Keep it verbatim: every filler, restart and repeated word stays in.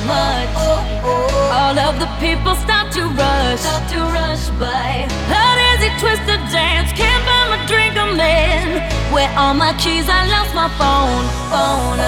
much. All of the people start to rush, start to rush by. How does it twist the dance? Can't buy my drink, I'm in. Where all my keys? I lost my phone, phone.